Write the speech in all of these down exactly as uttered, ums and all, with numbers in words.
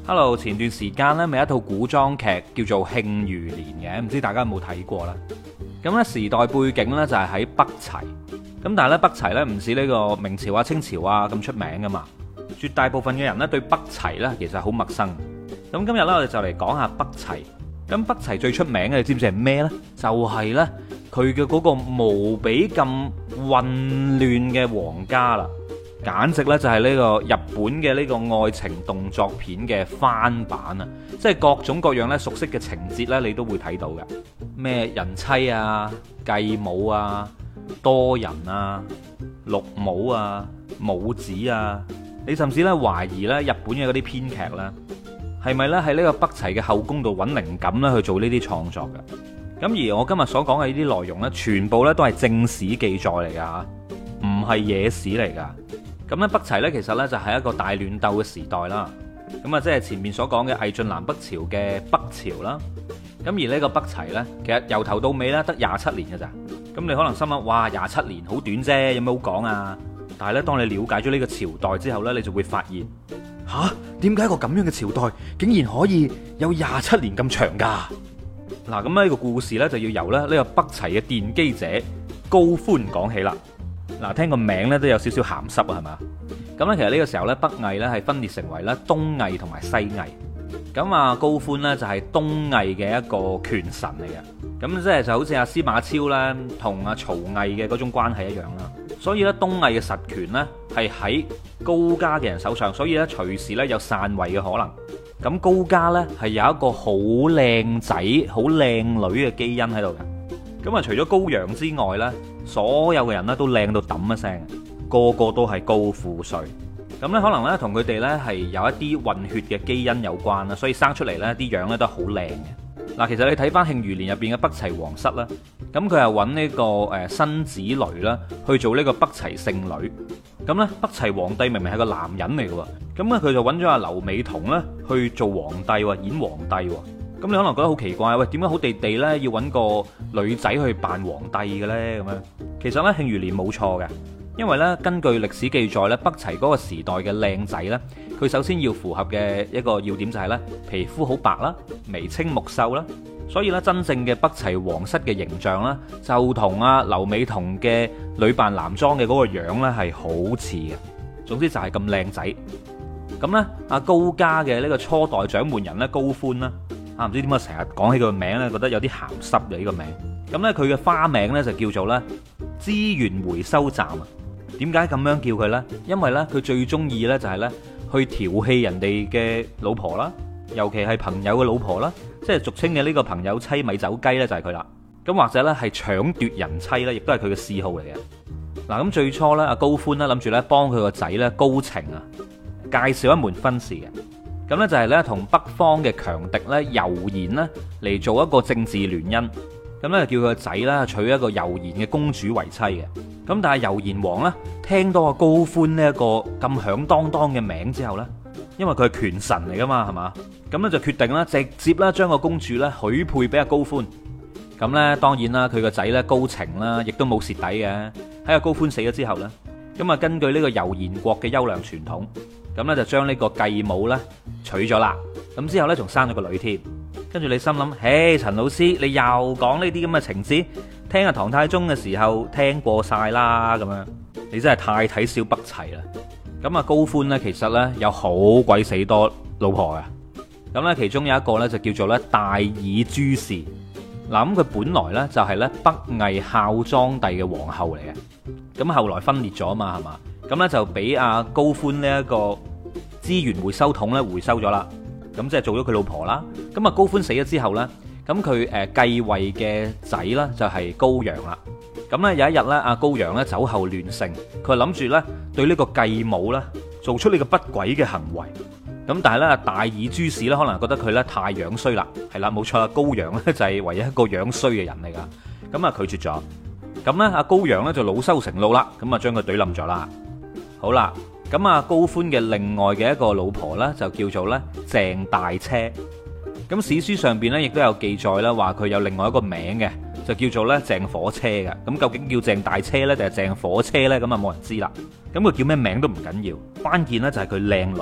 Hello，前段時間呢咪一套古裝劇叫做《慶餘年》嘅，唔知大家有冇睇過啦？咁呢時代背景呢就係喺北齊，咁但係咧北齊呢唔似呢個明朝啊、清朝啊咁出名噶嘛，絕大部分嘅人呢對北齊呢其實好陌生。咁今日呢，我哋就嚟講下北齊。咁北齊最出名嘅，你知唔知係咩呢？就係呢，佢嘅嗰個無比咁混亂嘅皇家啦。簡直咧就係呢個日本嘅呢個愛情動作片嘅翻版啊！即係各種各樣咧熟悉嘅情節咧，你都會睇到嘅。咩人妻啊、繼母啊、多人啊、綠帽啊、母子啊，你甚至咧懷疑咧日本嘅嗰啲編劇咧係咪咧喺呢個北齊嘅後宮度揾靈感咧去做呢啲創作嘅？咁而我今日所講嘅呢啲內容咧，全部咧都係正史記載嚟㗎嚇，唔係野史嚟㗎。咁咧北齊咧其實咧就係一個大亂鬥嘅時代啦，咁啊即係前面所講嘅魏晉南北朝嘅北朝啦。咁而呢個北齊咧，其實由頭到尾咧得廿七年嘅咋。咁你可能心諗，哇，廿七年好短啫，有咩好講啊？但係咧，當你了解咗呢個朝代之後咧，你就會發現，吓，點解一個咁樣嘅朝代竟然可以有廿七年咁長噶？嗱，咁呢個故事咧就要由咧呢個北齊嘅奠基者高歡講起啦。嗱，聽個名咧都有少少鹹濕啊，係嘛？咁咧，其實呢個時候咧，北魏咧係分裂成為咧東魏同埋西魏。咁啊，高歡咧就係東魏嘅一個權臣嚟嘅。咁即係就好似阿司馬超咧同阿曹魏嘅嗰種關係一樣啦。所以咧，東魏嘅實權咧係喺高家嘅人手上，所以咧隨時咧有篡位嘅可能。咁高家咧係有一個好靚仔、好靚女嘅基因喺度嘅。咁啊，除咗高陽之外咧，所有嘅人咧都靚到揼一聲，個個都係高富帥。咁咧可能咧同佢哋咧係有一啲混血嘅基因有關啦，所以生出嚟咧啲樣咧都好靚嘅。嗱，其實你睇翻《慶餘年》入邊嘅北齊皇室啦，咁佢係揾呢個誒辛芷蕾啦去做呢個北齊聖女。咁咧北齊皇帝明明係個男人嚟嘅喎，咁咧佢就揾咗阿劉美彤咧去做皇帝喎，演皇帝喎。咁你可能覺得好奇怪，喂，點解好地地咧要揾個女仔去扮皇帝嘅咧？咁樣其實咧《慶餘年》冇錯嘅，因為咧根據歷史記載咧，北齊嗰個時代嘅靚仔咧，佢首先要符合嘅一個要點就係咧皮膚好白啦，眉清目秀啦，所以咧真正嘅北齊皇室嘅形象咧，就同阿劉美彤嘅女扮男裝嘅嗰個樣咧係好似嘅。總之就係咁靚仔。咁咧阿高家嘅呢個初代掌門人咧高歡啦。啊，唔知點解成日講起佢個名咧，覺得有啲鹹濕嘅呢個名。咁呢，佢嘅花名呢就叫做呢資源回收站啊。點解咁樣叫佢呢？因為呢，佢最中意呢就係呢去調戲人哋嘅老婆啦，尤其係朋友嘅老婆啦，即係俗稱嘅呢個朋友妻米酒雞呢，就係佢啦。咁或者呢係搶奪人妻呢，亦都係佢嘅嗜好嚟嘅。嗱，咁最初呢，阿高歡呢諗住呢幫佢個仔呢高澄啊介紹一門婚事嘅。咁咧就係咧同北方嘅強敵咧柔然咧嚟做一個政治聯姻，咁咧叫佢個仔咧娶一個柔然嘅公主為妻嘅。咁但係柔然王咧聽到阿高歡呢一個咁響當當嘅名之後咧，因為佢係權臣嚟噶嘛，係嘛？咁咧就決定咧直接咧將個公主咧許配俾阿高歡。咁咧當然啦，佢個仔咧高澄啦，亦都冇蝕底嘅。喺阿高歡死咗之後咧，咁啊根據呢個柔然國嘅優良傳統。咁咧就將呢個繼母咧娶咗啦，咁之後咧仲生咗個女添。跟住你心諗，嘿，陳老師你又講呢啲咁嘅情節，聽阿唐太宗嘅時候聽過晒啦，咁樣你真係太睇小北齊啦。咁啊高歡咧其實咧有好鬼死多老婆嘅，咁咧其中有一個咧就叫做咧大爾朱氏。嗱，咁佢本來咧就係咧北魏孝莊帝嘅皇后嚟嘅，咁後來分裂咗啊嘛，係嘛？咁咧就俾阿高歡呢一個資源回收桶咧回收咗啦，咁即係做咗佢老婆啦。咁啊高歡死咗之後咧，咁佢誒繼位嘅仔咧就係高陽啦。咁咧有一日咧，阿高陽咧酒後亂性，佢諗住咧對呢個繼母咧做出呢個不軌嘅行為。咁但係咧大爾朱氏咧可能覺得佢咧太樣衰啦，係啦冇錯啦，高陽咧就係唯一一個樣衰嘅人嚟噶，咁啊拒絕咗。咁咧阿高陽咧就惱羞成怒啦，咁啊將佢懟冧咗啦。好啦，咁啊高歡嘅另外嘅一個老婆呢，就叫做咧鄭大車。咁史書上邊呢，亦都有記載啦，話佢有另外一個名嘅，就叫做咧鄭火車嘅。咁究竟叫鄭大車呢，定係鄭火車呢？咁啊冇人知啦。咁佢叫咩名都唔緊要，關鍵呢就係佢靚女。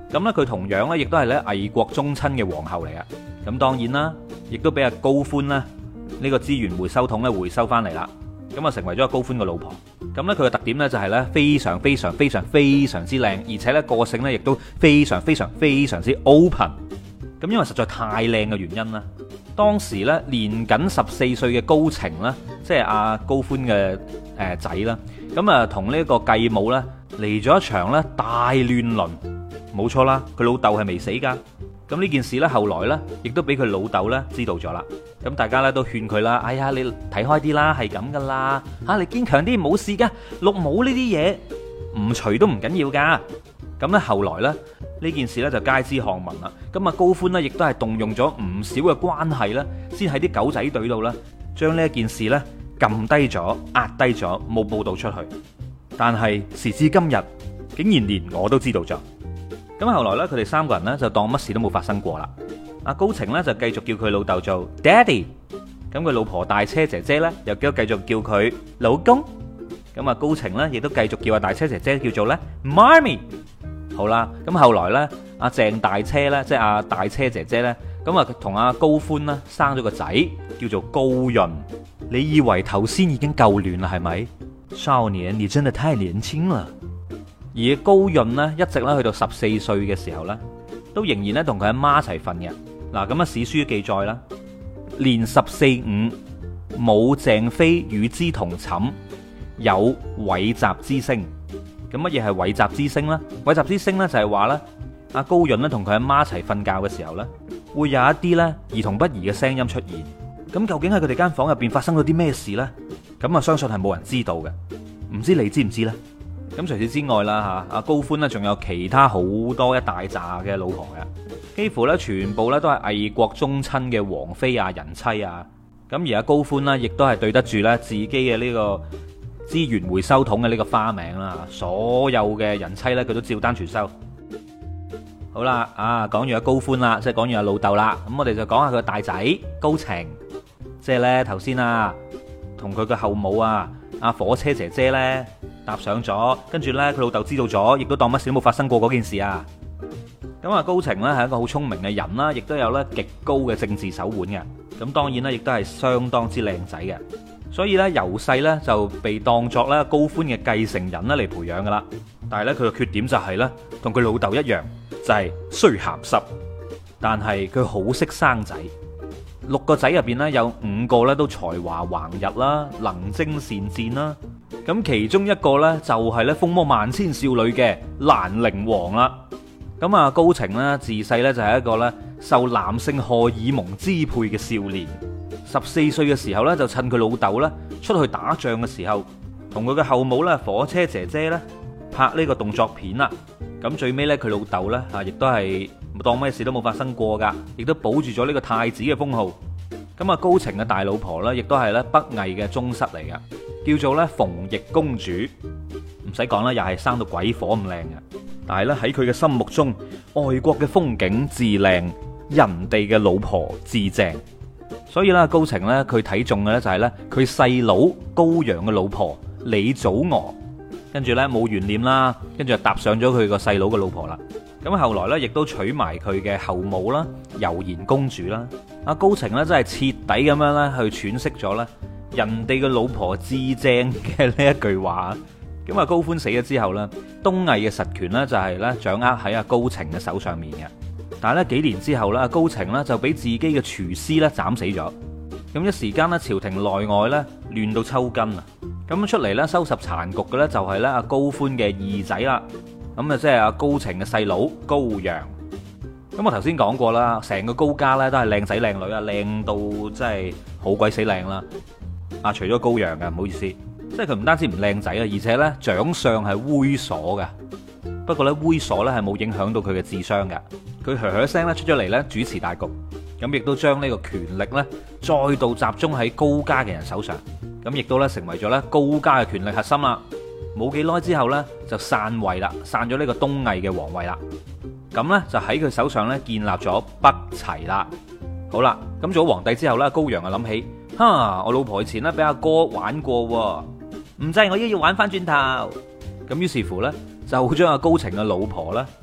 咁咧佢同樣咧亦都係咧魏國宗親嘅皇后嚟嘅。咁當然啦，亦都俾阿高歡啦呢個資源回收桶咧回收翻嚟啦。咁啊成為咗阿高歡嘅老婆。咁咧佢嘅特點咧就係咧非常非常非常非常之靚，而且咧個性咧亦都非常非常非常之 open。咁因為實在太靚嘅原因啦，當時咧年僅十四歲嘅高澄啦，即係阿高歡嘅誒仔啦，咁啊同呢個繼母咧嚟咗一場咧大亂倫。冇錯啦，佢老豆係未死噶。咁呢件事咧後來咧亦都俾佢老豆咧知道咗啦。咁大家咧都勸佢啦，哎呀你睇開啲啦，係咁噶啦，吓你堅強啲，冇事噶，綠帽呢啲嘢唔除都唔緊要噶。咁咧後來咧呢件事咧就街知巷聞啦。咁啊高歡呢亦都係動用咗唔少嘅關係咧，先喺啲狗仔隊度咧將呢一件事咧撳低咗、壓低咗，冇報道出去。但係時至今日，竟然連我都知道咗。咁後來咧佢哋三個人咧就當乜事都冇發生過啦。阿高澄咧就繼續叫佢老豆做 Daddy， 咁佢老婆大車姐姐咧又繼續叫佢老公。咁啊高澄咧亦都繼續叫阿大車姐姐叫做咧媽咪。好啦，咁後來咧阿鄭大車咧即係阿大車姐姐咧，咁啊同阿高歡啦生咗個仔叫做高潤。你以為頭先已經夠亂啦係咪？少年，你真係太年輕啦。而高潤呢，一直咧去到十四歲嘅時候呢，都仍然咧同佢阿媽一齊瞓嘅。嗱，咁啊史書記載啦，年十四五，母鄭妃與之同寢，有穢雜之聲。咁乜嘢係穢雜之聲呢？穢雜之聲呢，就係話呢，阿高潤咧同佢阿媽一齊瞓覺嘅時候呢，會有一啲呢兒童不宜嘅聲音出現。咁究竟喺佢哋間房入邊發生咗啲咩事呢？咁啊相信係冇人知道嘅。唔知你知唔知呢？咁除此之外啦嚇，阿高歡呢仲有其他好多一大紮嘅老婆嘅，幾乎咧全部咧都係魏國宗親嘅王妃啊、人妻啊。咁而阿高歡呢，亦都係對得住咧自己嘅呢個資源回收桶嘅呢個花名啦。所有嘅人妻咧，佢都照單全收。好啦，啊講完阿高歡啦，即係講完阿老豆啦，咁我哋就講下佢大仔高澄，即係咧頭先啊同佢嘅後母啊阿火車姐姐咧搭上咗，跟住呢，佢老豆知道咗，亦都當乜事都冇發生過嗰件事啊。咁啊高澄呢係一個好聰明嘅人啦，亦都有咧極高嘅政治手腕嘅。咁當然呢，亦都係相當之靚仔嘅，所以呢，由細呢就被當作咧高歡嘅繼承人咧嚟培養噶啦。但係呢，佢嘅缺點就係呢，同佢老豆一樣，就係衰鹹濕。但係佢好識生仔，六個仔入邊呢，有五個呢都才華橫溢啦，能征善戰啦。咁其中一個呢，就係咧風魔萬千少女嘅蘭陵王啦。咁啊高澄呢，自細呢，就係一個咧受男性荷爾蒙支配嘅少年。十四歲嘅時候呢，就趁佢老豆呢出去打仗嘅時候，同佢嘅後母呢，火車姐姐呢，拍呢個動作片啦。咁最尾呢，佢老豆呢，啊，亦都係當咩事都冇發生過噶，亦都保住咗呢個太子嘅封號。咁啊高澄嘅大老婆呢，亦都係咧北魏嘅宗室嚟噶。叫做咧馮翊公主，唔使講啦，又係生到鬼火咁靚嘅。但係咧喺佢嘅心目中，外國嘅風景至靚，人哋嘅老婆至正。所以咧高澄咧佢睇中嘅咧就係咧佢細佬高陽嘅老婆李祖娥，跟住咧冇懸念啦，跟住就搭上咗佢個細佬嘅老婆啦。咁後來咧亦都娶埋佢嘅後母啦，柔然公主啦。阿高澄咧真係徹底咁樣咧去詮釋咗咧人哋嘅老婆至正嘅呢一句話。咁啊高歡死咗之後呢，東魏嘅實權呢就係咧掌握喺阿高澄嘅手上面嘅。但係咧幾年之後咧，阿高澄呢就俾自己嘅廚師咧斬死咗。咁一時間呢，朝廷內外咧亂到抽筋啊！咁出嚟咧收拾殘局嘅咧就係咧阿高歡嘅二仔啦。咁啊即係阿高澄嘅細佬高陽。咁我頭先講過啦，成個高家咧都係靚仔靚女啊，靚到真係好鬼死靚啦！啊，除咗高陽嘅，唔好意思，即係佢唔單止唔靚仔啊，而且呢長相係猥瑣嘅。不過呢，猥瑣呢係冇影響到佢嘅智商嘅。佢噓噓聲咧出咗嚟呢主持大局，咁亦都將呢個權力呢再度集中喺高家嘅人手上，咁亦都呢成為咗呢高家嘅權力核心啦。冇幾耐之後呢，就篡位啦，篡咗呢個東魏嘅皇位啦。咁呢，就喺佢手上呢建立咗北齊啦。好啦，咁做咗皇帝之後呢，高陽啊諗起，哈，我老婆以前呢俾阿哥玩過，唔制，我依家要玩翻轉頭。咁於是乎呢，就將阿高澄嘅老婆呢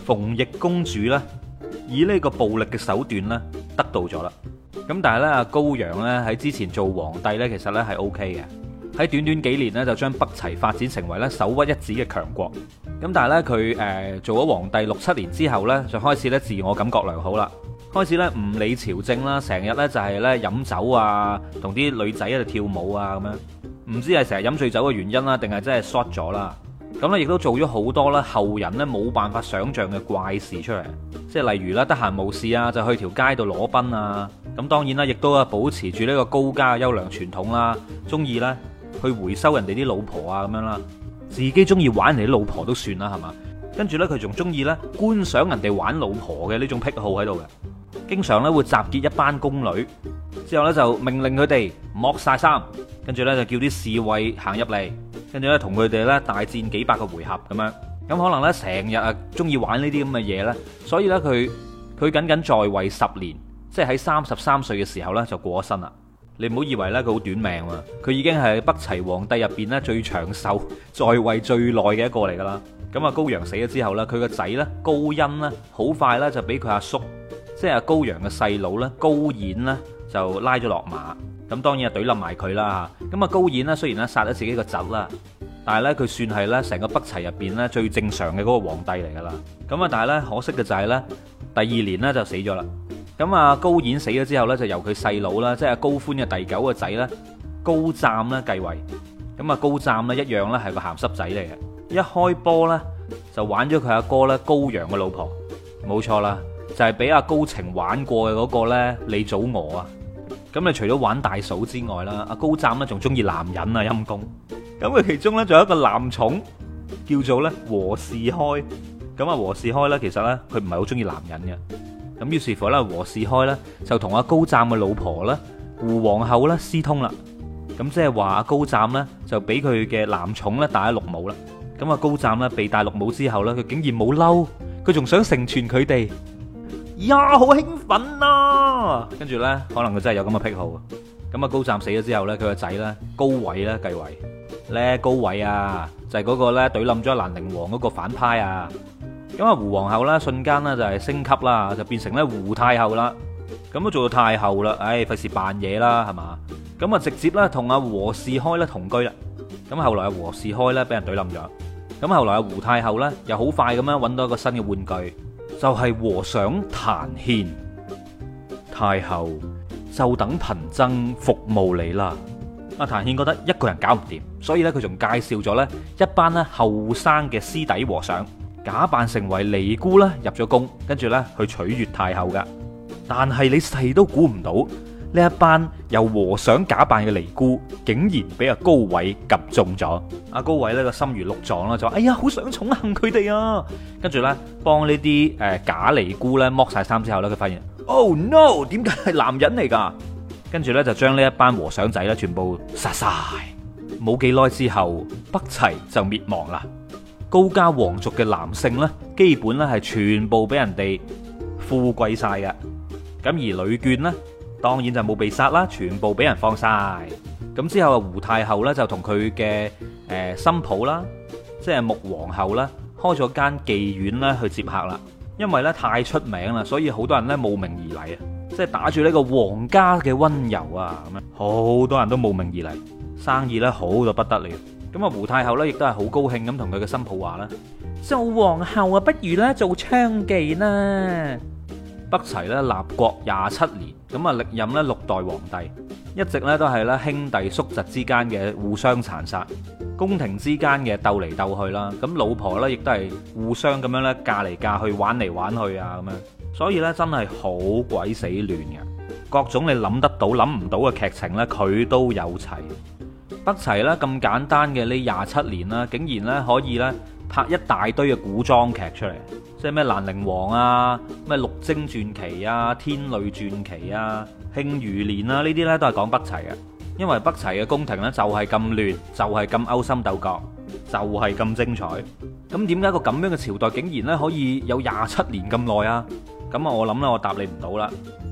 馮翊公主呢，以呢個暴力嘅手段呢得到咗啦。咁但係咧，阿高陽咧喺之前做皇帝咧，其實咧係 O K 嘅。喺短短幾年咧，就將北齊發展成為咧首屈一指嘅強國。咁但係咧，佢誒做咗皇帝六七年之後咧，就開始咧自我感覺良好啦，開始咧唔理朝政啦，成日咧就係咧飲酒啊，同啲女仔喺度跳舞啊咁樣。唔知係成日飲醉酒嘅原因啦，定係真係 short 咗啦。咁咧亦都做咗好多咧後人咧冇辦法想像嘅怪事出嚟，即係例如啦，得閒無事啊就去條街度裸奔啊。咁當然啦，亦都啊保持住呢個高家嘅優良傳統啦，中意咧去回收人哋啲老婆啊咁樣啦，自己中意玩人哋啲老婆都算啦，係嘛？跟住呢，佢仲中意咧觀賞人哋玩老婆嘅呢種癖好喺度嘅，經常咧會集結一班宮女，之後呢，就命令佢哋剝晒衫，跟住呢，就叫啲侍衛行入嚟，跟住呢，同佢哋咧大戰幾百個回合咁樣。咁可能呢，成日啊中意玩呢啲咁嘅嘢呢，所以呢，佢佢僅僅在位十年。即係喺三十三歲嘅時候呢，就過咗身啦。你唔好以為呢，佢好短命啊，佢已經係北齊皇帝入邊呢最長壽、在位最耐嘅一個嚟噶啦。咁啊高陽死咗之後呢，佢個仔呢，高欣呢，好快呢就俾佢阿叔，即係阿高陽嘅細佬呢，高演呢，就拉咗落馬。咁當然係懟冧埋佢啦。咁啊高演呢，雖然呢殺咗自己個侄啦，但係呢，佢算係呢成個北齊入邊呢最正常嘅嗰個皇帝嚟噶啦。咁啊但係呢，可惜嘅就係呢，第二年呢就死咗啦。咁啊高演死咗之後呢，就由佢細佬啦，即係高歡嘅第九個仔呢，高湛呢繼位。咁啊高湛呢，一樣呢係個鹹濕仔嚟嘅，一開波呢，就玩咗佢阿哥呢，高陽嘅老婆，冇錯啦，就係俾阿高澄玩過嘅嗰個呢，李祖娥啊。咁你除咗玩大嫂之外啦，阿高湛呢仲中意男人啊陰公。咁佢其中呢，仲有一個男寵叫做呢和士開。咁啊和士開呢，其實呢，佢唔係好中意男人嘅。咁於是乎咧，和士開咧就同阿高湛嘅老婆咧胡皇后咧私通啦。咁即係話阿高湛咧就俾佢嘅男寵咧戴咗綠帽啦。咁啊高湛咧被戴綠帽之後咧，佢竟然冇嬲，佢仲想成全佢哋。呀，好興奮啊！跟住咧，可能佢真係有咁嘅癖好。咁啊高湛死咗之後咧，佢個仔咧高緯咧繼位。咧高緯啊，就係嗰個咧懟冧咗蘭陵王嗰個反派啊。咁啊胡皇后啦，瞬間呢就係升級啦，就變成咧胡太后啦。咁都做到太后啦，唉，費事扮嘢啦，係嘛？咁啊直接咧同阿和士開咧同居啦。咁後來阿和士開咧俾人懟冧咗。咁後來阿胡太后咧又好快咁樣揾到一個新嘅玩具，就係和尚譚憲。太后就等貧僧服務你啦。阿譚憲覺得一個人搞唔掂，所以咧佢仲介紹咗咧一班咧後生嘅師弟和尚。假扮成為尼姑啦，入咗宮，跟住咧去取悦太后噶。但係你細都估唔到，呢一班由和尚假扮嘅尼姑，竟然俾阿高緯及中咗。阿高緯呢個心如鹿撞啦，就話：哎呀，好想寵幸佢哋啊！跟住咧幫呢啲誒假尼姑咧剝晒衫之後咧，佢發現 Oh no， 點解係男人嚟噶？跟住咧就將呢一班和尚仔咧全部殺晒。冇幾耐之後，北齊就滅亡啦。高家皇族嘅男性呢，基本咧係全部俾人哋富貴晒嘅。咁而女眷呢，當然就冇被殺啦，全部俾人放晒。咁之後啊，胡太后呢，就同佢嘅誒新抱啦，即係穆皇后啦，開咗間妓院啦去接客啦。因為咧太出名啦，所以好多人咧慕名而嚟啊！即係打住呢個皇家嘅溫柔啊，咁樣好多人都慕名而嚟，生意咧好到不得了。咁啊，胡太后咧亦都係好高興咁同佢嘅新抱話啦：做皇后啊，不如咧做娼妓啦！北齊咧立國廿七年，咁啊歷任咧六代皇帝，一直咧都係咧兄弟叔侄之間嘅互相殘殺，宮廷之間嘅鬥嚟鬥去啦。咁老婆咧亦都係互相咁樣咧嫁嚟嫁去，玩嚟玩去啊咁樣。所以咧真係好鬼死亂嘅，各種你諗得到諗唔到嘅劇情咧，佢都有齊。北齊咧咁簡單嘅呢廿七年啦，竟然咧可以咧拍一大堆嘅古裝劇出嚟，即係咩蘭陵王啊、咩陸貞傳奇啊、天女傳奇啊、慶餘年啊，呢啲咧都係講北齊嘅。因為北齊嘅宮廷咧就係咁亂，就係咁勾心鬥角，就係咁精彩。咁點解個咁樣嘅朝代竟然咧可以有廿七年咁耐啊？咁啊我諗咧我答你唔到啦。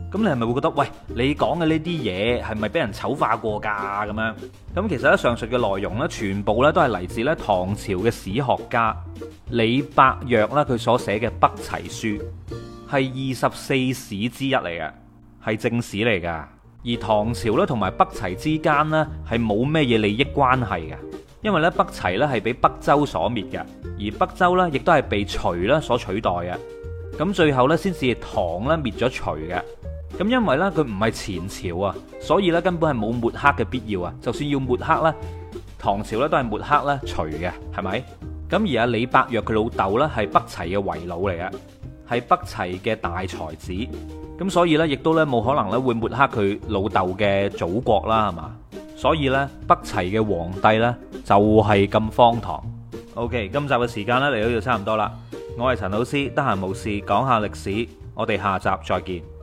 咁你係咪會覺得，喂，你講嘅呢啲嘢係咪俾人醜化過㗎咁樣？咁其實咧，上述嘅內容咧，全部咧都係嚟自咧唐朝嘅史學家李百藥啦，佢所寫嘅《北齊書》，係二十四史之一嚟嘅，係正史嚟㗎。而唐朝咧同埋北齊之間呢，係冇咩嘢利益關係嘅，因為咧北齊咧係俾北周所滅嘅，而北周咧亦都係被隋咧所取代嘅。咁最後咧先至唐咧滅咗隋嘅。咁因為咧佢唔係前朝啊，所以咧根本係冇抹黑嘅必要啊。就算要抹黑咧，唐朝咧都係抹黑咧隋嘅，係咪？咁而阿李百藥佢老豆咧係北齊嘅遺老嚟嘅，係北齊嘅大才子。咁所以咧亦都咧冇可能咧會抹黑佢老豆嘅祖國啦，係嘛？所以咧北齊嘅皇帝咧就係咁荒唐。OK，今集嘅時間咧嚟到就差唔多啦。我係陳老師，得閒無事講下歷史，我哋下集再見。